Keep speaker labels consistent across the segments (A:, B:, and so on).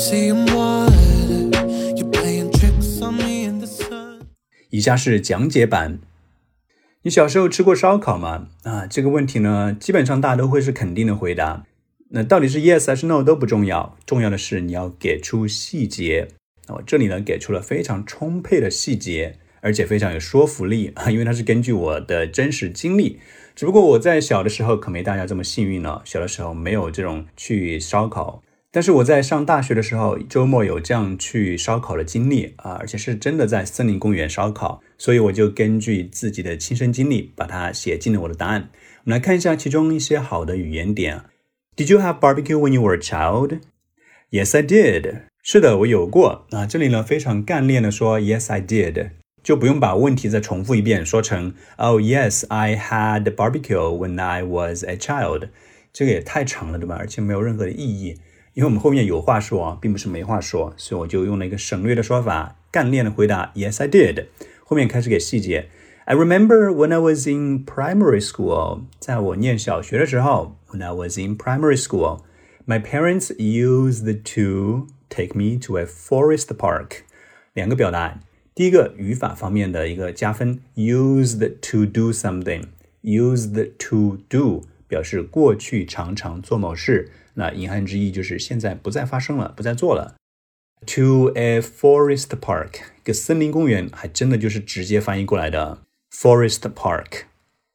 A: 以下是讲解版。你小时候吃过烧烤吗？这个问题呢，基本上大家都会是肯定的回答。那到底是 yes 还是 no 都不重要，重要的是你要给出细节。我这里呢给出了非常充沛的细节，而且非常有说服力，因为它是根据我的真实经历。只不过我在小的时候可没大家这么幸运了，小的时候没有这种去烧烤。但是我在上大学的时候，周末有这样去烧烤的经历而且是真的在森林公园烧烤，所以我就根据自己的亲身经历把它写进了我的答案。我们来看一下其中一些好的语言点。Did you have barbecue when you were a child? Yes, I did. 是的，我有过。这里呢非常干练的说 Yes, I did， 就不用把问题再重复一遍，说成 Oh, yes, I had barbecue when I was a child。 这个也太长了，对吧？而且没有任何的意义。因为我们后面有话说并不是没话说，所以我就用了一个省略的说法，干练的回答 Yes, I did。 后面开始给细节。I remember when I was in primary school， 在我念小学的时候 When I was in primary school， my parents used to take me to a forest park。 两个表达，第一个语法方面的一个加分， used to do something， used to do 表示过去常常做某事，那隐含之意就是现在不再发生了，不再做了。To a forest park， 一个森林公园，还真的就是直接翻译过来的 forest park。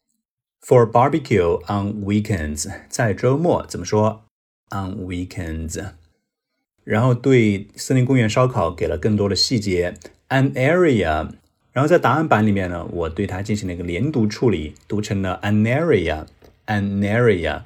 A: For barbecue on weekends， 在周末怎么说 on weekends。 然后对森林公园烧烤给了更多的细节 an area， 然后在答案版里面呢，我对它进行了一个连读处理，读成了 an area an area。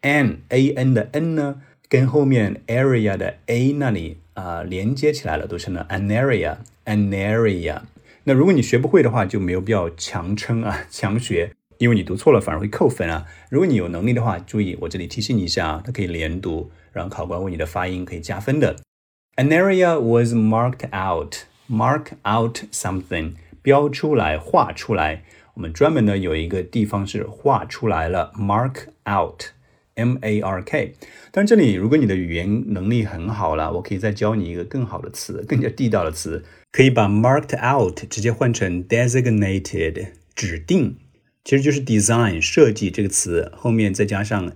A: an 的 n 呢跟后面 area 的 a 那里连接起来了，读成了 an area an area。 那如果你学不会的话，就没有必要强撑强学，因为你读错了反而会扣分如果你有能力的话，注意我这里提醒你一下它可以连读，让考官为你的发音可以加分的。 An area was marked out mark out something， 标出来画出来。我们专门呢有一个地方是画出来了 mark out M-A-R-K。 但这里如果你的语言能力很好了，我可以再教你一个更好的词，更加地道的词，可以把 marked out 直接换成 designated 指定，其实就是 design 设计这个词后面再加上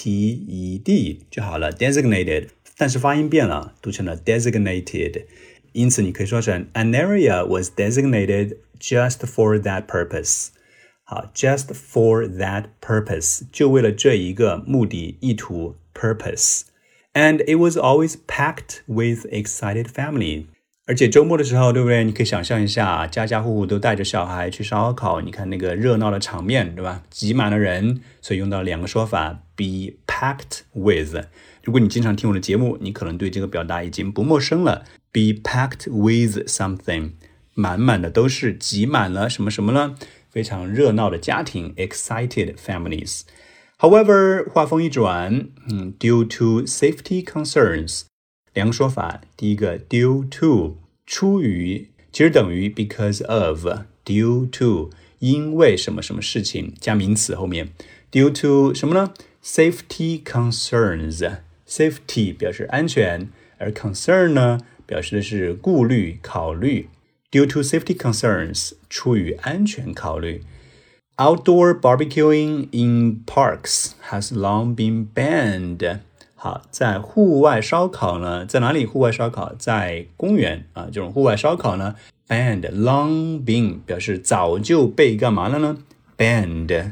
A: A-T-E-D 就好了 designated， 但是发音变了，读成了 designated。 因此你可以说成 An area was designated just for that purpose。 好 just for that purpose 就为了这一个目的意图 purpose。 And it was always packed with excited family。 而且周末的时候，对不对？你可以想象一下，家家户户都带着小孩去烧烤，你看那个热闹的场面，对吧？挤满了人，所以用到两个说法 be packed with。 如果你经常听我的节目，你可能对这个表达已经不陌生了， be packed with something， 满满的都是，挤满了什么什么呢？非常热闹的家庭 excited families。 However 话锋一转due to safety concerns， 两个说法，第一个 due to 出于，其实等于 because of， due to 因为什么什么事情加名词后面 due to 什么呢？ safety concerns， safety 表示安全，而 concern 呢表示的是顾虑考虑。Due to safety concerns， 出于安全考虑。Outdoor barbecuing in parks has long been banned。 好，在户外烧烤呢，在哪里户外烧烤？在公园这种户外烧烤呢 banned long been 表示早就被干嘛了呢？ banned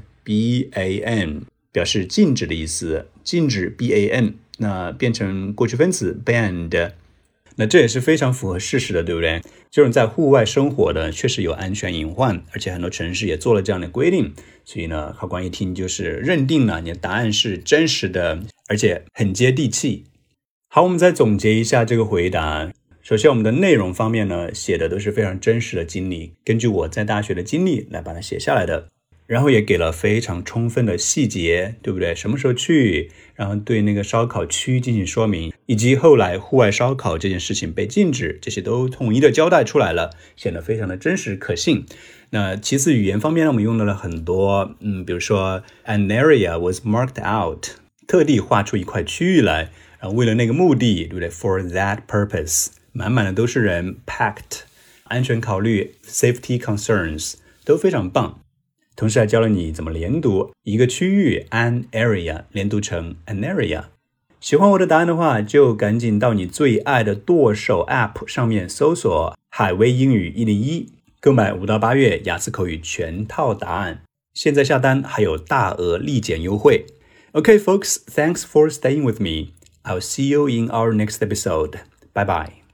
A: B-A-N 表示禁止的意思，禁止 B-A-N 那变成过去分词 banned。那这也是非常符合事实的，对不对？这种在户外生活的确实有安全隐患，而且很多城市也做了这样的规定，所以呢，考官一听就是认定了你的答案是真实的，而且很接地气。好，我们再总结一下这个回答。首先我们的内容方面呢，写的都是非常真实的经历，根据我在大学的经历来把它写下来的，然后也给了非常充分的细节，对不对？什么时候去，然后对那个烧烤区进行说明，以及后来户外烧烤这件事情被禁止，这些都统一的交代出来了，显得非常的真实可信。那其次语言方面呢，我们用到了很多比如说 an area was marked out， 特地画出一块区域来，然为了那个目的，对不对？ For that purpose， 满满的都是人 packed， 安全考虑 safety concerns 都非常棒。同时还教了你怎么连读一个区域 an area 连读成 an area。 喜欢我的答案的话，就赶紧到你最爱的剁手 App 上面搜索海威英语101，购买5到8月雅思口语全套答案，现在下单还有大额立减优惠。Okay folks, thanks for staying with me. I'll see you in our next episode. Bye bye.